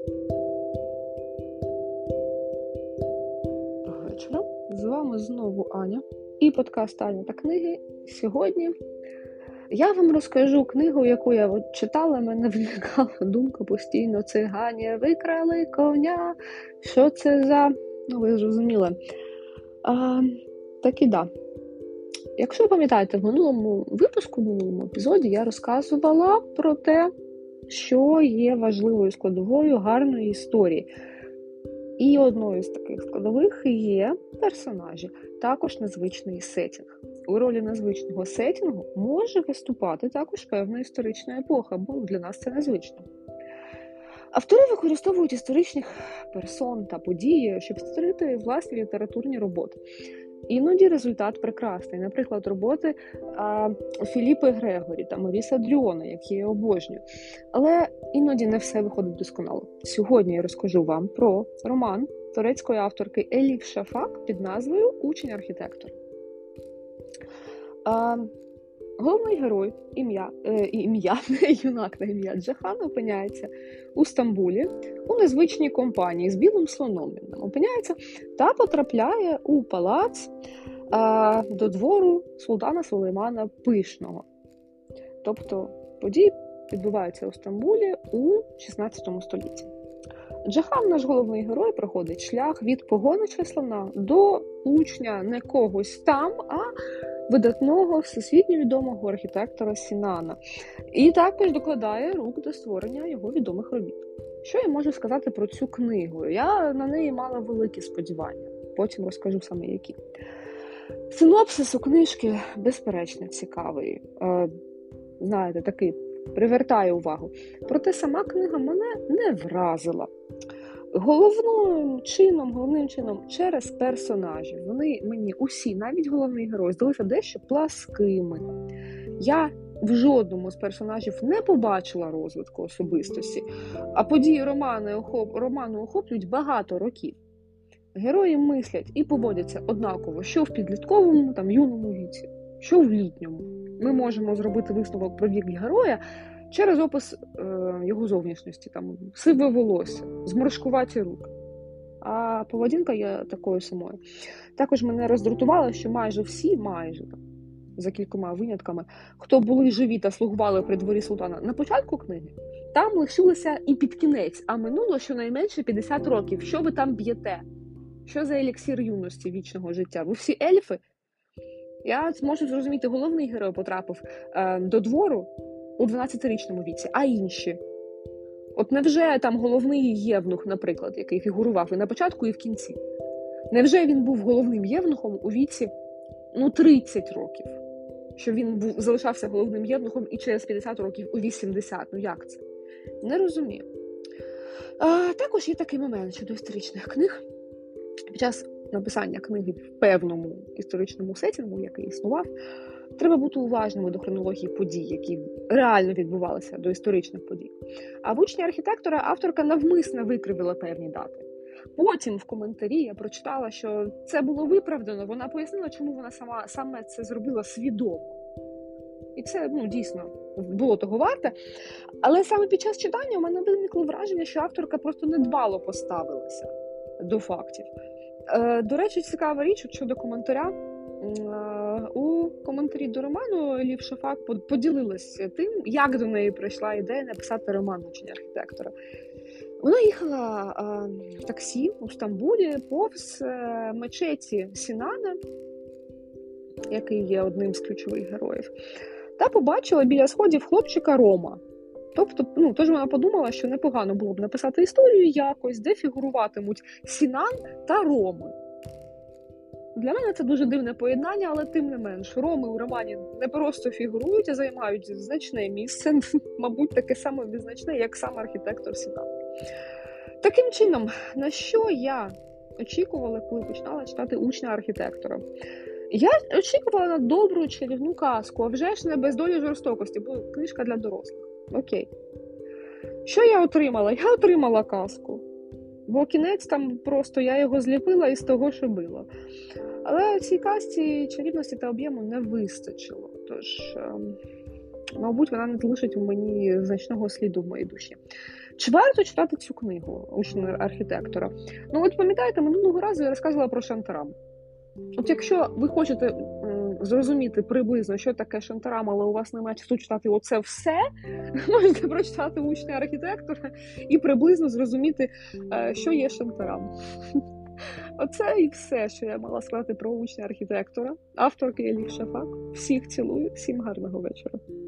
Доброго вечора. З вами знову Аня і подкаст «Аня та книги». Сьогодні я вам розкажу книгу, яку я читала, мене виникала думка постійно: цигані викрали коня. Що це за... ви зрозуміли. Так і да. Якщо ви пам'ятаєте, в минулому епізоді я розказувала про те, що є важливою складовою гарної історії. І одною з таких складових є персонажі, також незвичний сеттінг. У ролі незвичного сеттінгу може виступати також певна історична епоха, бо для нас це незвично. Автори використовують історичних персон та події, щоб створити власні літературні роботи. Іноді результат прекрасний. Наприклад, роботи Філіппи Грегорі та Моріса Дрюона, які я обожнюю. Але іноді не все виходить досконало. Сьогодні я розкажу вам про роман турецької авторки Еліф Шафак під назвою «Учень-архітектор». Головний герой, юнак на ім'я Джахан, опиняється у Стамбулі у незвичній компанії з білим слоном. Він опиняється та потрапляє у палац до двору султана Сулеймана Пишного. Тобто події відбуваються у Стамбулі у 16 столітті. Джахан, наш головний герой, проходить шлях від погонича слона до учня не когось там, а видатного, всесвітньо відомого архітектора Сінана. І також докладає рук до створення його відомих робіт. Що я можу сказати про цю книгу? Я на неї мала великі сподівання. Потім розкажу саме які. Синопсис у книжки безперечно цікавий. Знаєте, такий привертає увагу. Проте сама книга мене не вразила. Головним чином через персонажів. Вони мені усі, навіть головний герой, здалися дещо пласкими. Я в жодному з персонажів не побачила розвитку особистості, а події роману охоплюють багато років. Герої мислять і поводяться однаково, що в підлітковому, юному віці, що в літньому. Ми можемо зробити висновок про вік героя через опис його зовнішності, сиве волосся, зморшкуваті руки. А поведінка є такою самою. Також мене роздратувало, що майже всі, за кількома винятками, хто були живі та слугували при дворі султана на початку книги, там лишилися і під кінець, а минуло щонайменше 50 років. Що ви там б'єте? Що за еліксир юності, вічного життя? Ви всі ельфи? Я можу зрозуміти, головний герой потрапив до двору у 12-річному віці, а інші? От невже там головний євнух, наприклад, який фігурував і на початку, і в кінці? Невже він був головним євнухом у віці 30 років? Що він залишався головним євнухом і через 50 років у 80? Як це? Не розумію. Також є такий момент щодо історичних книг. Під час написання книги в певному історичному сеттінгу, який існував, треба бути уважними до хронології подій, які реально відбувалися, до історичних подій. А в «Учні архітектора» авторка навмисно викривила певні дати. Потім в коментарі я прочитала, що це було виправдано, вона пояснила, чому вона саме це зробила свідомо. І це, дійсно, було того варте. Але саме під час читання у мене виникло враження, що авторка просто недбало поставилася до фактів. До речі, цікава річ щодо коментаря. У коментарі до роману Еліф Шафак поділилася тим, як до неї прийшла ідея написати роман «Учень архітектора». Вона їхала в таксі у Стамбулі повз мечеті Сінана, який є одним з ключових героїв, та побачила біля сходів хлопчика Рома. Тобто, тож вона подумала, що непогано було б написати історію якось, де фігуруватимуть Сінан та Роми. Для мене це дуже дивне поєднання, але тим не менш. Роми у романі не просто фігурують, а займають значне місце, мабуть, таке саме визначне, як сам архітектор Сінан. Таким чином, на що я очікувала, коли починала читати «Учня архітектора»? Я очікувала на добру чарівну казку, а вже ж не без долі жорстокості, бо книжка для дорослих. Окей. Що я отримала? Я отримала казку. Бо кінець там просто я його зліпила із того, що було. Але цій казці чарівності та об'єму не вистачило. Тож, мабуть, вона не залишить у мені значного сліду в моїй душі. Чи варто читати цю книгу «Учень архітектора»? Ну, от пам'ятаєте, минулого разу я розказувала про Шантарам. От якщо ви хочете зрозуміти приблизно, що таке Шантарам, але у вас немає часу читати оце все, можете прочитати «Учня архітектора» і приблизно зрозуміти, що є Шантарам. Оце і все, що я мала сказати про «Учня архітектора». Авторки Еліх Шафак. Всіх цілую, всім гарного вечора.